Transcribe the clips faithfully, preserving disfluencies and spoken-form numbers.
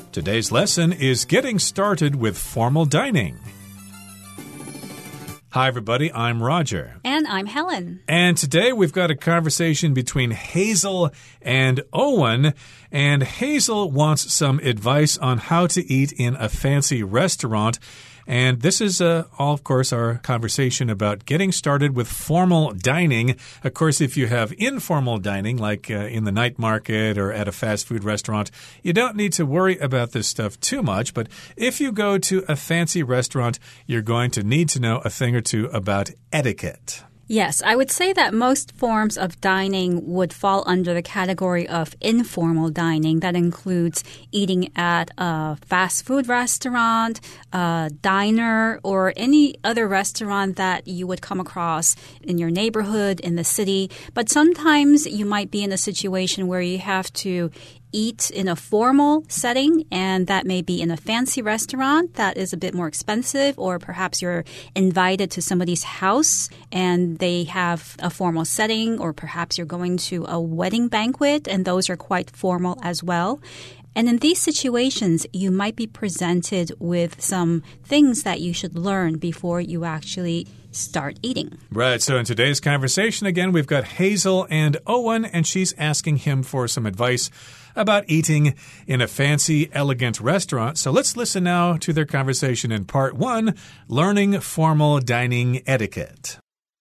Today's lesson is getting started with formal dining. Hi, everybody. I'm Roger. And I'm Helen. And today we've got a conversation between Hazel and Owen. And Hazel wants some advice on how to eat in a fancy restaurant. And this is, uh, all, of course, our conversation about getting started with formal dining. Of course, if you have informal dining, like uh, in the night market or at a fast food restaurant, you don't need to worry about this stuff too much. But if you go to a fancy restaurant, you're going to need to know a thing or two about etiquette. Yes, I would say that most forms of dining would fall under the category of informal dining. That includes eating at a fast food restaurant, a diner, or any other restaurant that you would come across in your neighborhood, in the city. But sometimes you might be in a situation where you have to eat in a formal setting, and that may be in a fancy restaurant that is a bit more expensive, or perhaps you're invited to somebody's house and they have a formal setting, or perhaps you're going to a wedding banquet and those are quite formal as well. And in these situations, you might be presented with some things that you should learn before you actually start eating. Right. So in today's conversation, again, we've got Hazel and Owen, and she's asking him for some advice about eating in a fancy, elegant restaurant. So let's listen now to their conversation in part one, Learning Formal Dining Etiquette.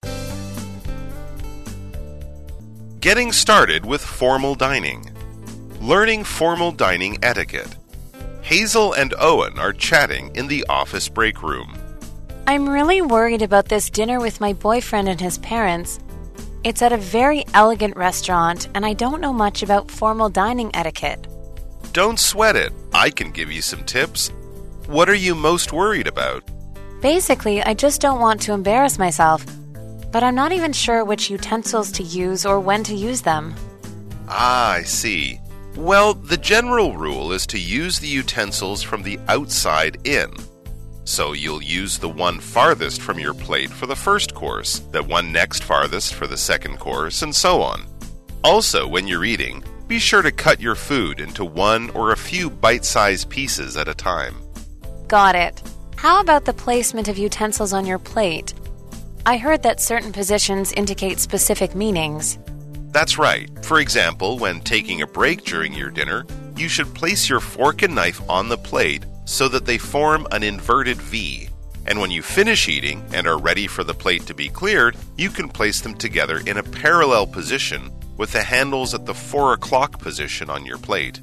Getting started with formal dining. Learning formal dining etiquette. Hazel and Owen are chatting in the office break room. I'm really worried about this dinner with my boyfriend and his parents. It's at a very elegant restaurant, and I don't know much about formal dining etiquette. Don't sweat it. I can give you some tips. What are you most worried about? Basically, I just don't want to embarrass myself, but I'm not even sure which utensils to use or when to use them. Ah, I see. Well, the general rule is to use the utensils from the outside in. So you'll use the one farthest from your plate for the first course, the one next farthest for the second course, and so on. Also, when you're eating, be sure to cut your food into one or a few bite-sized pieces at a time. Got it. How about the placement of utensils on your plate? I heard that certain positions indicate specific meanings. That's right. For example, when taking a break during your dinner, you should place your fork and knife on the plate so that they form an inverted V. And when you finish eating and are ready for the plate to be cleared, you can place them together in a parallel position with the handles at the four o'clock position on your plate.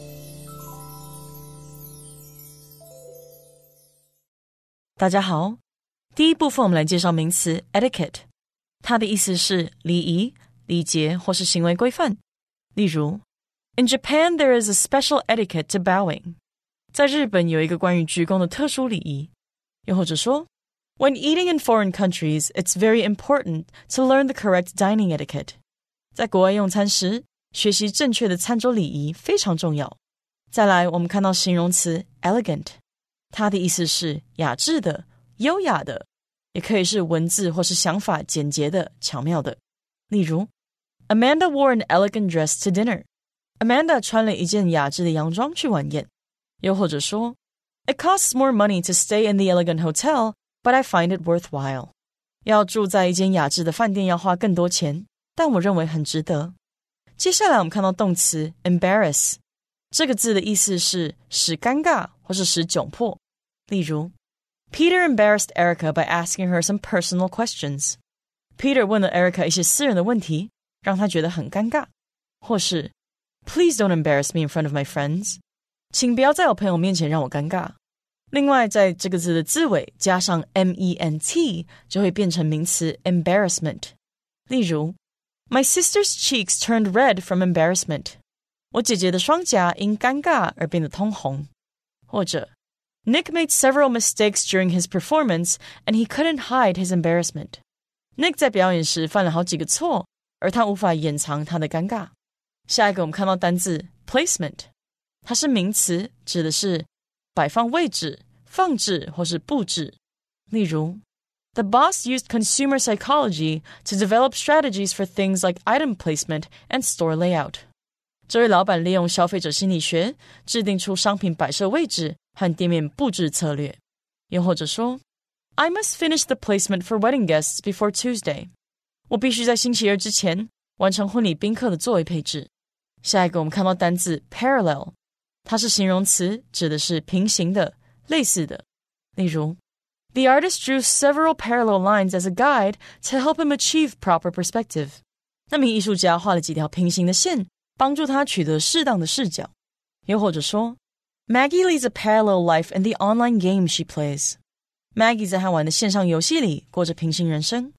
大家好，第一部分我们来介绍名词 etiquette， 它的意思是礼仪、礼节或是行为规範。例如 In Japan, there is a special etiquette to bowing. 在日本有一個關於鞠躬的特殊禮儀。又或者說 When eating in foreign countries, it's very important to learn the correct dining etiquette. 在國外用餐時，學習正確的餐桌禮儀非常重要。再來，我們看到形容詞 elegant， 它的意思是雅致的、優雅的，也可以是文字或是想法簡潔的、巧妙的。例如 Amanda wore an elegant dress to dinner. Amanda 穿了一件雅致的洋裝去晚宴。又或者說 It costs more money to stay in the elegant hotel, but I find it worthwhile. 要住在一間雅致的飯店要花更多錢，但我認為很值得。接下來我們看到動詞 embarrass， 這個字的意思是使尷尬或是使窘迫。例如 Peter embarrassed Erica by asking her some personal questions. Peter 問了 Erica 一些私人的問題，讓她覺得很尷尬。或是 Please don't embarrass me in front of my friends. 請不要在我朋友面前讓我尷尬。另外，在這個字的字尾加上 ment 就會變成名詞 embarrassment。例如 My sister's cheeks turned red from embarrassment. 我姐姐的雙頰因尷尬而變得通紅。或者 Nick made several mistakes during his performance and he couldn't hide his embarrassment. Nick 在表演時犯了好幾個錯，而他無法掩藏他的尷尬。下一個我們看到單字 placement， 它是名詞，指的是擺放位置、放置或是布置。例如 The boss used consumer psychology to develop strategies for things like item placement and store layout. 這位老闆利用消費者心理學制定出商品擺設位置和店面佈置策略。又或者說 I must finish the placement for wedding guests before Tuesday. 我必須在星期二之前完成婚禮賓客的座位配置。下一個我們看到單字 parallel， 它是形容詞，指的是平行的、類似的。例如 The artist drew several parallel lines as a guide to help him achieve proper perspective. 那名藝術家畫了幾條平行的線，幫助他取得適當的視角。又或者說 Maggie leads a parallel life in the online game she plays. Maggie 在和玩的線上遊戲裡過着平行人生。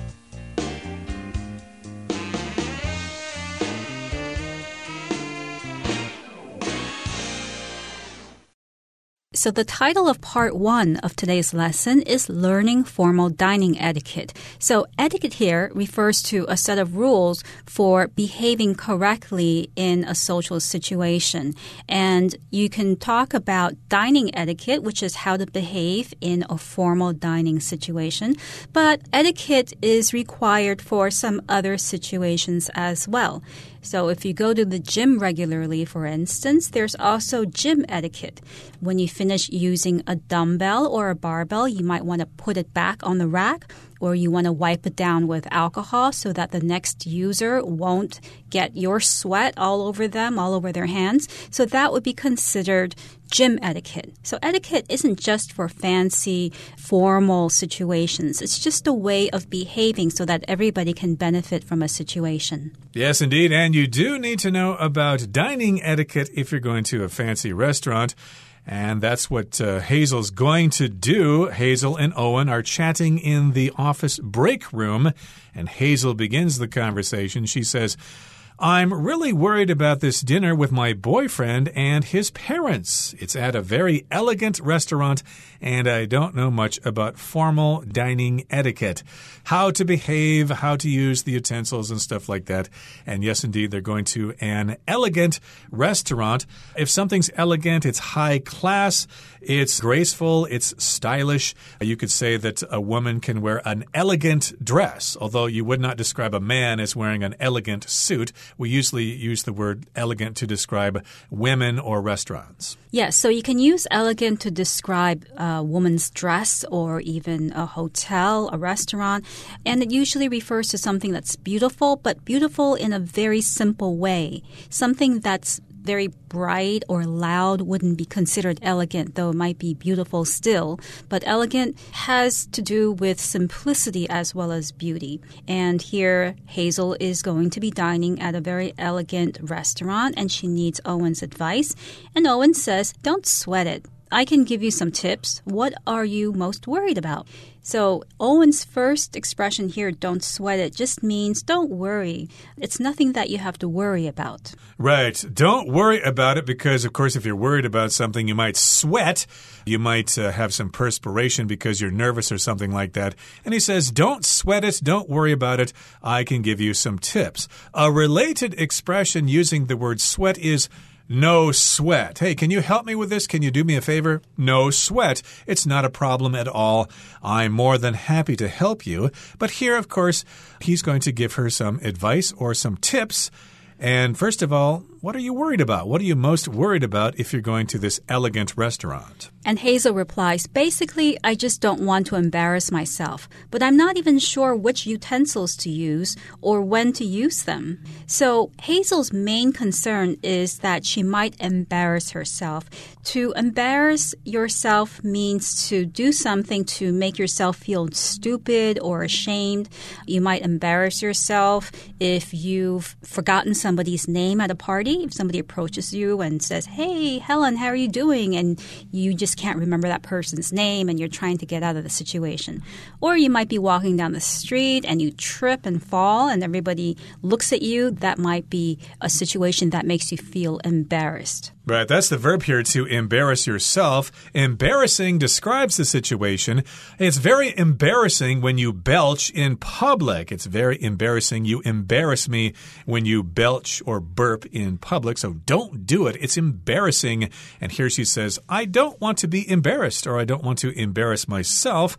So the title of part one of today's lesson is Learning Formal Dining Etiquette. So etiquette here refers to a set of rules for behaving correctly in a social situation. And you can talk about dining etiquette, which is how to behave in a formal dining situation. But etiquette is required for some other situations as well. So if you go to the gym regularly, for instance, there's also gym etiquette. When you finish using a dumbbell or a barbell, you might want to put it back on the rack, or you want to wipe it down with alcohol so that the next user won't get your sweat all over them, all over their hands. So that would be considered gym etiquette. So etiquette isn't just for fancy, formal situations. It's just a way of behaving so that everybody can benefit from a situation. Yes, indeed. And you do need to know about dining etiquette if you're going to a fancy restaurant. And that's what uh, Hazel's going to do. Hazel and Owen are chatting in the office break room, and Hazel begins the conversation. She says, I'm really worried about this dinner with my boyfriend and his parents. It's at a very elegant restaurant, and I don't know much about formal dining etiquette. How to behave, how to use the utensils and stuff like that. And yes, indeed, they're going to an elegant restaurant. If something's elegant, it's high class, it's graceful, it's stylish. You could say that a woman can wear an elegant dress, although you would not describe a man as wearing an elegant suit. We usually use the word elegant to describe women or restaurants. Yes, so you can use elegant to describe a woman's dress or even a hotel, a restaurant. And it usually refers to something that's beautiful, but beautiful in a very simple way. Something that's very bright or loud wouldn't be considered elegant, though it might be beautiful still. But elegant has to do with simplicity as well as beauty. And here, Hazel is going to be dining at a very elegant restaurant, and she needs Owen's advice. And Owen says, don't sweat it. I can give you some tips. What are you most worried about? So Owen's first expression here, don't sweat it, just means don't worry. It's nothing that you have to worry about. Right. Don't worry about it because, of course, if you're worried about something, you might sweat. You might uh, have some perspiration because you're nervous or something like that. And he says, don't sweat it. Don't worry about it. I can give you some tips. A related expression using the word sweat is no sweat. Hey, can you help me with this? Can you do me a favor? No sweat. It's not a problem at all. I'm more than happy to help you. But here, of course, he's going to give her some advice or some tips. And first of all, what are you worried about? What are you most worried about if you're going to this elegant restaurant? And Hazel replies, basically, I just don't want to embarrass myself, but I'm not even sure which utensils to use or when to use them. So Hazel's main concern is that she might embarrass herself. To embarrass yourself means to do something to make yourself feel stupid or ashamed. You might embarrass yourself if you've forgotten somebody's name at a party. If somebody approaches you and says, hey, Helen, how are you doing? And you just can't remember that person's name and you're trying to get out of the situation. Or you might be walking down the street and you trip and fall and everybody looks at you. That might be a situation that makes you feel embarrassed. Right, that's the verb here, to embarrass yourself. Embarrassing describes the situation. It's very embarrassing when you belch in public. It's very embarrassing. You embarrass me when you belch or burp in public, so don't do it. It's embarrassing. And here she says, I don't want to be embarrassed, or I don't want to embarrass myself.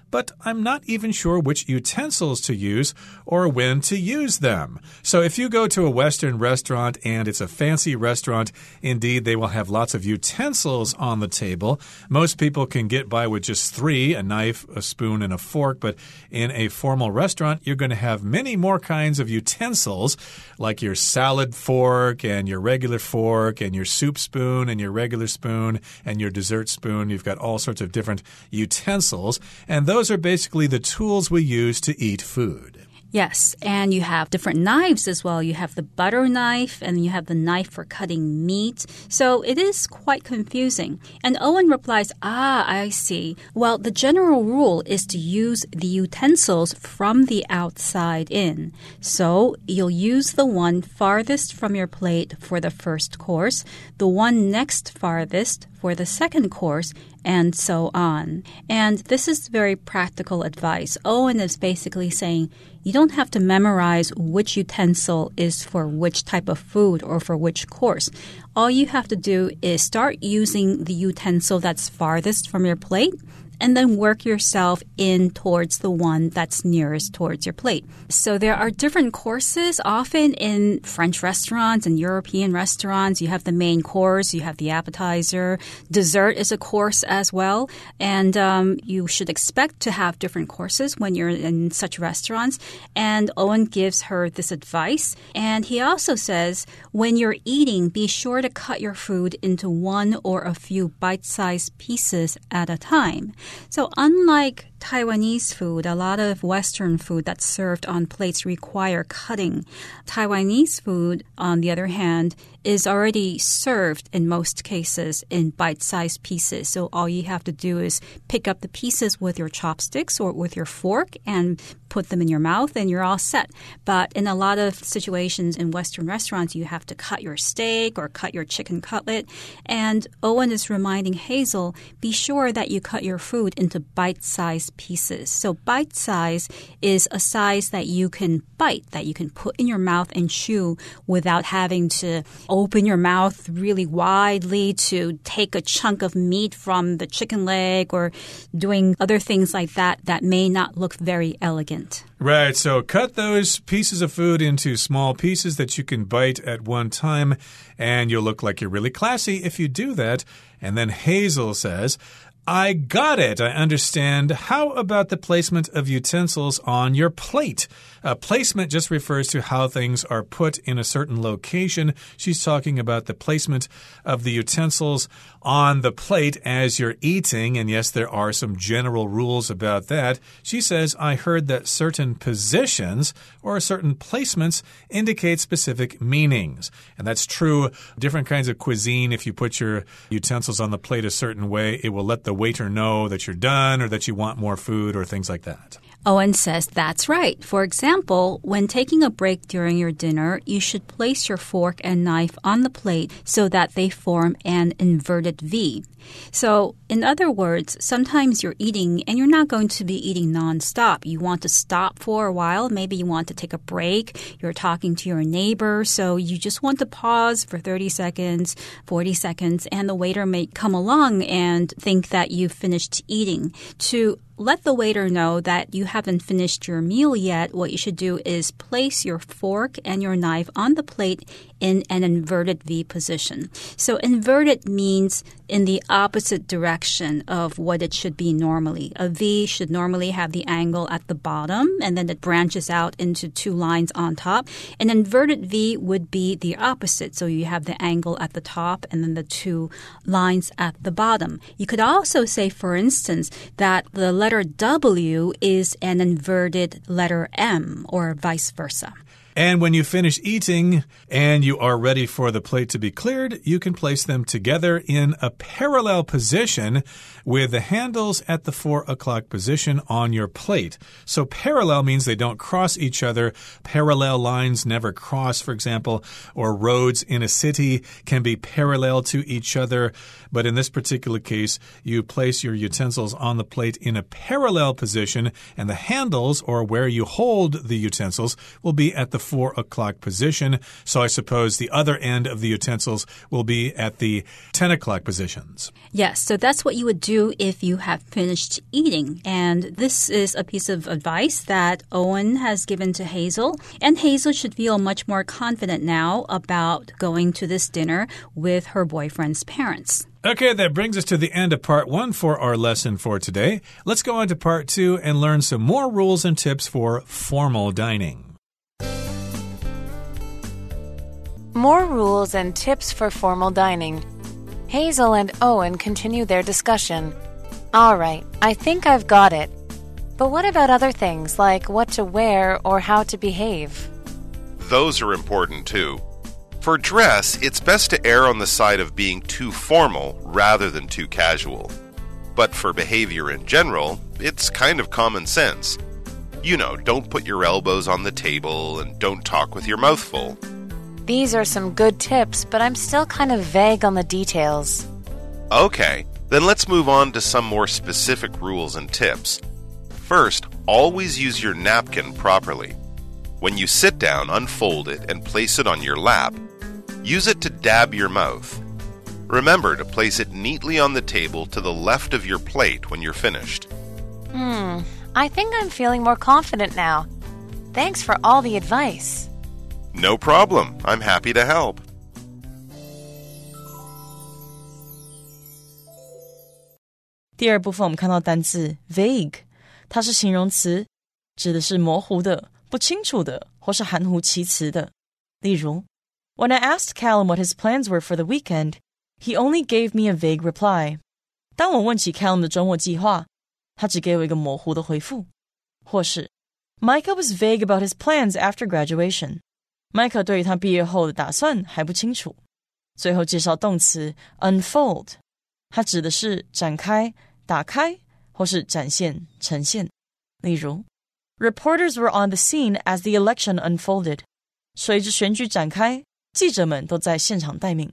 but I'm not even sure which utensils to use or when to use them. So if you go to a Western restaurant and it's a fancy restaurant, indeed, they will have lots of utensils on the table. Most people can get by with just three, a knife, a spoon, and a fork, but in a formal restaurant, you're going to have many more kinds of utensils, like your salad fork and your regular fork and your soup spoon and your regular spoon and your dessert spoon. You've got all sorts of different utensils, and those are basically the tools we use to eat food. Yes, and you have different knives as well. You have the butter knife and you have the knife for cutting meat. So it is quite confusing. And Owen replies, ah, I see. Well, the general rule is to use the utensils from the outside in. So you'll use the one farthest from your plate for the first course, the one next farthest for the second course, and so on. And this is very practical advice. Owen is basically saying you don't have to memorize which utensil is for which type of food or for which course. All you have to do is start using the utensil that's farthest from your plate, and then work yourself in towards the one that's nearest towards your plate. So there are different courses. Often in French restaurants and European restaurants, you have the main course, you have the appetizer. Dessert is a course as well. And um, you should expect to have different courses when you're in such restaurants. And Owen gives her this advice. And he also says, when you're eating, be sure to cut your food into one or a few bite-sized pieces at a time. So unlike Taiwanese food, a lot of Western food that's served on plates require cutting. Taiwanese food, on the other hand, is already served in most cases in bite-sized pieces. So all you have to do is pick up the pieces with your chopsticks or with your fork and put them in your mouth and you're all set. But in a lot of situations in Western restaurants, you have to cut your steak or cut your chicken cutlet. And Owen is reminding Hazel, be sure that you cut your food into bite-sized pieces. So bite size is a size that you can bite, that you can put in your mouth and chew without having to open your mouth really widely to take a chunk of meat from the chicken leg or doing other things like that that may not look very elegant. Right, so cut those pieces of food into small pieces that you can bite at one time, and you'll look like you're really classy if you do that. And then Hazel says, I got it. I understand. How about the placement of utensils on your plate? Uh, placement just refers to how things are put in a certain location. She's talking about the placement of the utensils on the plate as you're eating. And yes, there are some general rules about that. She says, I heard that certain positions or certain placements indicate specific meanings. And that's true. Different kinds of cuisine, if you put your utensils on the plate a certain way, it will let the waiter know that you're done or that you want more food or things like that. Owen says that's right. For example, when taking a break during your dinner, you should place your fork and knife on the plate so that they form an inverted V. So, in other words, sometimes you're eating and you're not going to be eating nonstop. You want to stop for a while. Maybe you want to take a break. You're talking to your neighbor, so you just want to pause for thirty seconds, forty seconds, and the waiter may come along and think that you've finished eating. To let the waiter know that you haven't finished your meal yet, what you should do is place your fork and your knife on the plate in an inverted V position. So inverted means in the opposite direction of what it should be normally. A V should normally have the angle at the bottom, and then it branches out into two lines on top. An inverted V would be the opposite. So you have the angle at the top and then the two lines at the bottom. You could also say, for instance, that the letter W is an inverted letter M, or vice versa. And when you finish eating and you are ready for the plate to be cleared, you can place them together in a parallel position with the handles at the four o'clock position on your plate. So parallel means they don't cross each other. Parallel lines never cross, for example, or roads in a city can be parallel to each other. But in this particular case, you place your utensils on the plate in a parallel position, and the handles, or where you hold the utensils, will be at the four o'clock position. So I suppose the other end of the utensils will be at the ten o'clock positions. Yes, so that's what you would do if you have finished eating. And this is a piece of advice that Owen has given to Hazel. And Hazel should feel much more confident now about going to this dinner with her boyfriend's parents. Okay, that brings us to the end of part one for our lesson for today. Let's go on to part two and learn some more rules and tips for formal dining. More rules and tips for formal dining. Hazel and Owen continue their discussion. All right, I think I've got it. But what about other things like what to wear or how to behave? Those are important too. For dress, it's best to err on the side of being too formal rather than too casual. But for behavior in general, it's kind of common sense. You know, don't put your elbows on the table and don't talk with your mouth full. These are some good tips, but I'm still kind of vague on the details. Okay, then let's move on to some more specific rules and tips. First, always use your napkin properly. When you sit down, unfold it and place it on your lap. Use it to dab your mouth. Remember to place it neatly on the table to the left of your plate when you're finished. Hmm, I think I'm feeling more confident now. Thanks for all the advice. No problem. I'm happy to help. 第二部分我们看到单字 vague， 它是形容词，指的是模糊的、不清楚的或是含糊其辞的。例如 When I asked Callum what his plans were for the weekend, he only gave me a vague reply. 当我問起 Callum 的周末計劃，他只給我一個模糊的回復。或是 Micah was vague about his plans after graduation. Micah 對於他畢業後的打算還不清楚。最後介紹動詞 unfold， 它指的是展開、打開或是展現、呈現。例如 Reporters were on the scene as the election unfolded. 隨着選舉展開，記者們都在現場待命。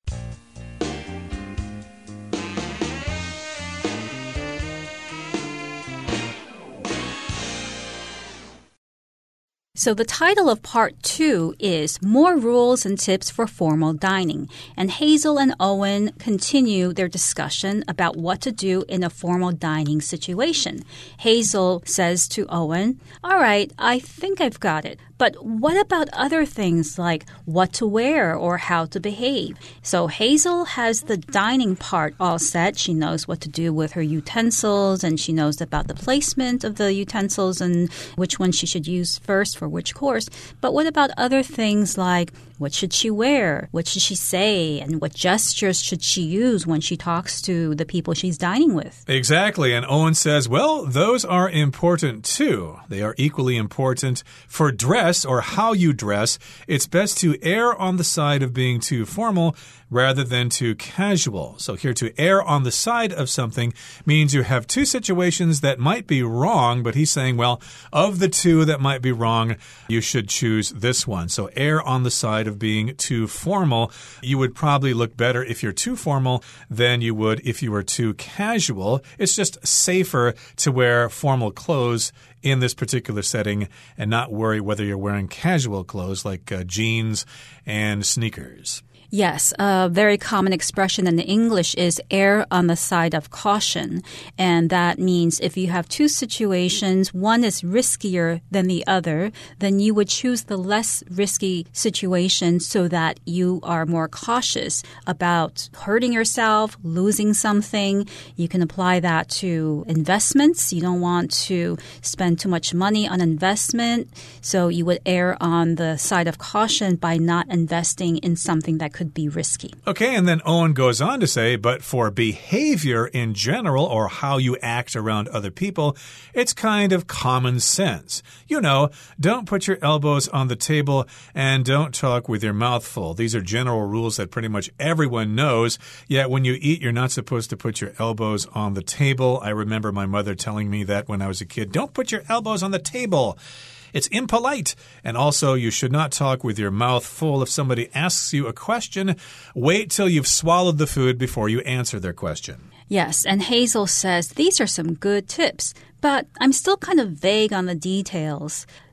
So the title of part two is More Rules and Tips for Formal Dining. And Hazel and Owen continue their discussion about what to do in a formal dining situation. Hazel says to Owen, all right, I think I've got it. But what about other things like what to wear or how to behave? So Hazel has the dining part all set. She knows what to do with her utensils, and she knows about the placement of the utensils and which one she should use first for which course. But what about other things like what should she wear? What should she say? And what gestures should she use when she talks to the people she's dining with? Exactly. And Owen says, well, those are important too. They are equally important for dress or how you dress. It's best to err on the side of being too formal rather than too casual. So here, to err on the side of something means you have two situations that might be wrong, but he's saying, well, of the two that might be wrong, you should choose this one. So err on the side of being too formal. You would probably look better if you're too formal than you would if you were too casual. It's just safer to wear formal clothes in this particular setting and not worry whether you're wearing casual clothes like uh, jeans and sneakers. Yes, a very common expression in English is err on the side of caution. And that means if you have two situations, one is riskier than the other, then you would choose the less risky situation so that you are more cautious about hurting yourself, losing something. You can apply that to investments. You don't want to spend too much money on investment, so you would err on the side of caution by not investing in something that could be risky. Okay, and then Owen goes on to say, but for behavior in general, or how you act around other people, it's kind of common sense. You know, don't put your elbows on the table and don't talk with your mouth full. These are general rules that pretty much everyone knows, yet when you eat, you're not supposed to put your elbows on the table. I remember my mother telling me that when I was a kid, don't put your elbows on the table. It's impolite. And also, you should not talk with your mouth full. If somebody asks you a question, wait till you've swallowed the food before you answer their question. Yes, and Hazel says these are some good tips, but I'm still kind of vague on the details.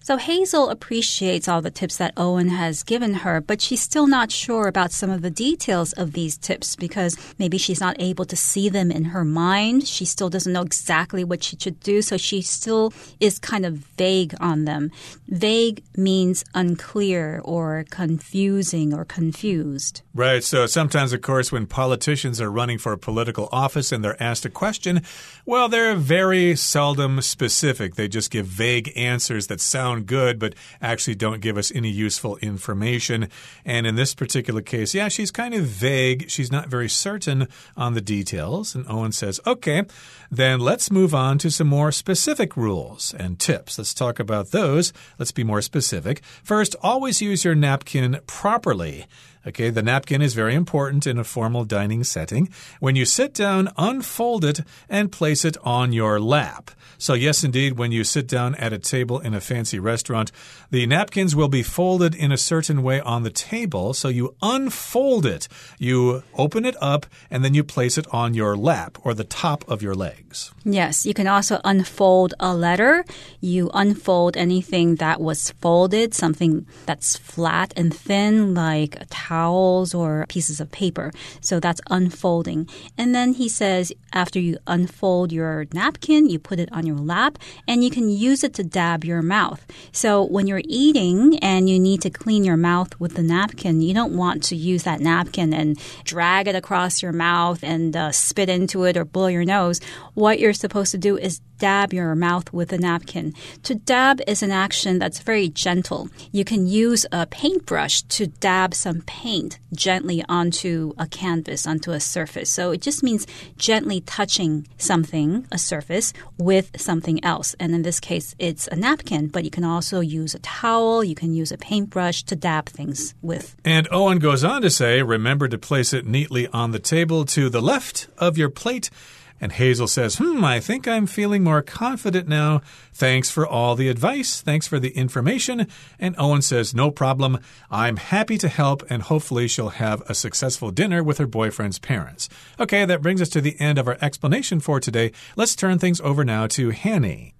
So Hazel appreciates all the tips that Owen has given her, but she's still not sure about some of the details of these tips because maybe she's not able to see them in her mind. She still doesn't know exactly what she should do, so she still is kind of vague on them. Vague means unclear or confusing or confused. Right, so sometimes, of course, when politicians are running for a political office and they're asked a question, well, they're very seldom specific. They just give vague answers that sound good, but actually don't give us any useful information. And in this particular case, yeah, she's kind of vague. She's not very certain on the details. And Owen says, okay, then let's move on to some more specific rules and tips. Let's talk about those. Let's be more specific. First, always use your napkin properly. Okay, the napkin is very important in a formal dining setting. When you sit down, unfold it and place it on your lap. So yes, indeed, when you sit down at a table in a fancy restaurant, the napkins will be folded in a certain way on the table. So you unfold it, you open it up, and then you place it on your lap or the top of your legs. Yes, you can also unfold a letter. You unfold anything that was folded, something that's flat and thin, like a towels or pieces of paper. So that's unfolding. And then he says after you unfold your napkin, you put it on your lap and you can use it to dab your mouth. So when you're eating and you need to clean your mouth with the napkin, you don't want to use that napkin and drag it across your mouth and uh, spit into it or blow your nose. What you're supposed to do is dab your mouth with a napkin. To dab is an action that's very gentle. You can use a paintbrush to dab some paint gently onto a canvas, onto a surface. So it just means gently touching something, a surface, with something else. And in this case, it's a napkin, but you can also use a towel, you can use a paintbrush to dab things with. And Owen goes on to say, remember to place it neatly on the table to the left of your plate. And Hazel says, hmm, I think I'm feeling more confident now. Thanks for all the advice. Thanks for the information. And Owen says, no problem. I'm happy to help, and hopefully she'll have a successful dinner with her boyfriend's parents. Okay, that brings us to the end of our explanation for today. Let's turn things over now to Hanny.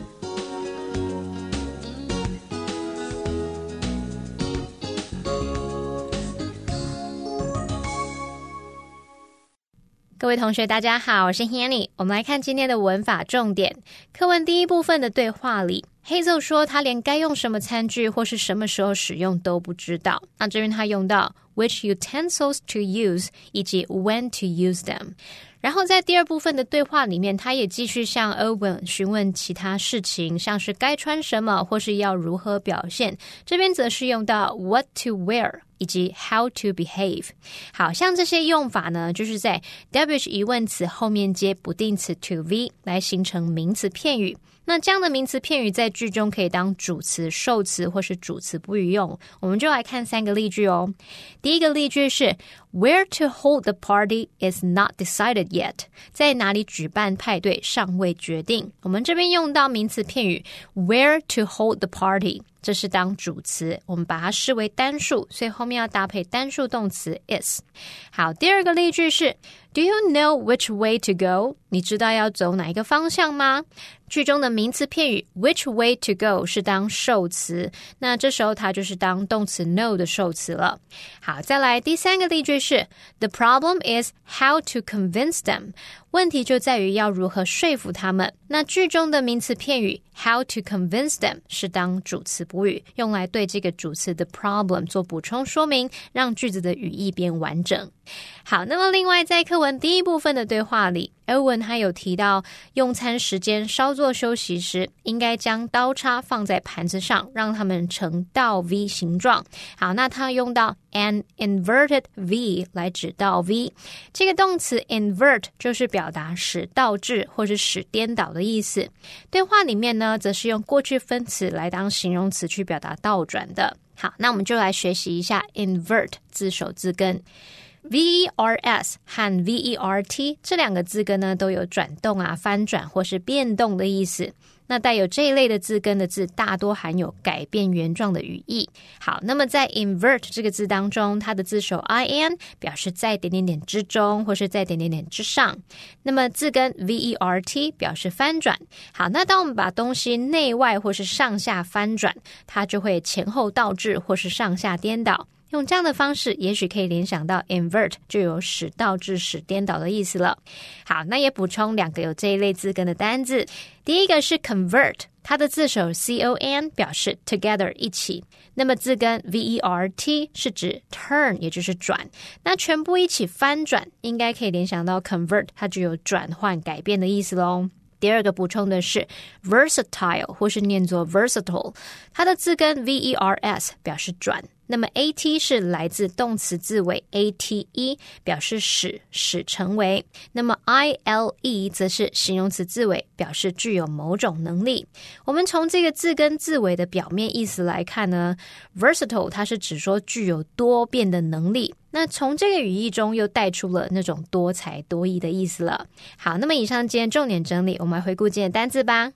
各位同學大家好，我是 Hanny。 我們來看今天的文法重點。課文第一部分的對話裡，Hazel 說他連該用什麼餐具或是什麼時候使用都不知道。那這邊他用到 which utensils to use 以及 when to use them。然後在第二部分的對話裡面，他也繼續向 Owen 詢問其他事情，像是該穿什麼或是要如何表現。這邊則是用到 what to wear以及 how to behave。 好，像這些用法呢，就是在 W H 疑問詞後面接不定詞 to be 來形成名詞片語。那這樣的名詞片語在句中可以當主詞、受詞或是主詞補語用。我們就來看三個例句哦。第一個例句是 Where to hold the party is not decided yet。 在哪裡舉辦派對尚未決定。我們這邊用到名詞片語 Where to hold the party， 這是當主詞，我們把它視為單數，所以後面要搭配單數動詞 is。 好，第二個例句是 Do you know which way to go？ 你知道要走哪一個方向嗎？句中的名詞片語 which way to go 是當受詞，那這時候它就是當動詞 know 的受詞了。好，再來第三個例句是 The problem is how to convince them。 問題就在於要如何說服他們。那句中的名詞片語 how to convince them 是當主詞補語，用來對這個主詞的 problem 做補充說明，讓句子的語義變完整。好，那麼另外在課文第一部分的對話裡，Owen 還有提到用餐時間稍作休息時，應該將刀叉放在盤子上，讓它們呈倒 V 形狀。好，那他用到 an inverted V 來指倒 V。 這個動詞 invert 就是表達使倒置或是使顛倒的意思。對話裡面呢，則是用過去分詞來當形容詞去表達倒轉的。好，那我們就來學習一下 invert 字首字根。 V E R S 和 V E R T 這兩個字根呢，都有轉動啊、翻轉或是變動的意思。那帶有這一類的字根的字，大多含有改變原狀的語義。好，那麼在 invert 這個字當中，它的字首 in 表示在點點點之中，或是在點點點之上。那麼字根 V E R T 表示翻轉。好，那當我們把東西內外或是上下翻轉，它就會前後倒置或是上下顛倒。用這樣的方式，也許可以聯想到 invert 就有使倒置、使顛倒的意思了。好，那也補充兩個有這一類字根的單字。第一個是 convert， 它的字首 C O N 表示 together 一起。那麼字根 V E R T 是指 turn， 也就是轉。那全部一起翻轉，應該可以聯想到 convert， 它就有轉換、改變的意思咯。第二個補充的是 versatile， 或是念作 versatile， 它的字根 V E R S 表示轉。那麼 at 是來自動詞字尾 ate， 表示使、使成為。那麼 ile 則是形容詞字尾，表示具有某種能力。我們從這個字根字尾的表面意思來看呢， versatile 它是指說具有多變的能力。那從這個語義中又帶出了那種多才多藝的意思了。好，那麼以上今天重點整理，我們來回顧今天的單字吧。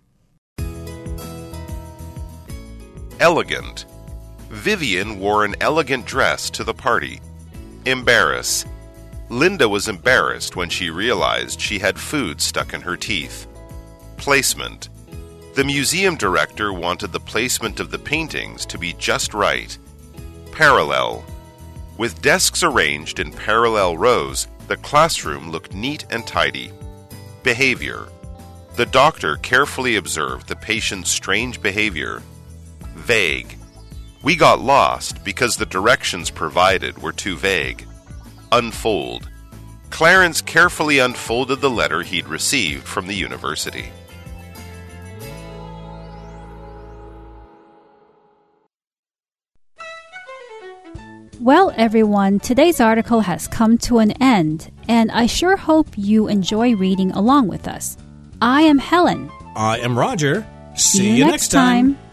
Elegant.Vivian wore an elegant dress to the party. Embarrass. Linda was embarrassed when she realized she had food stuck in her teeth. Placement. The museum director wanted the placement of the paintings to be just right. Parallel. With desks arranged in parallel rows, the classroom looked neat and tidy. Behavior. The doctor carefully observed the patient's strange behavior. Vague.We got lost because the directions provided were too vague. Unfold. Clarence carefully unfolded the letter he'd received from the university. Well, everyone, today's article has come to an end, and I sure hope you enjoy reading along with us. I am Helen. I am Roger. See, See you, you next next time. time.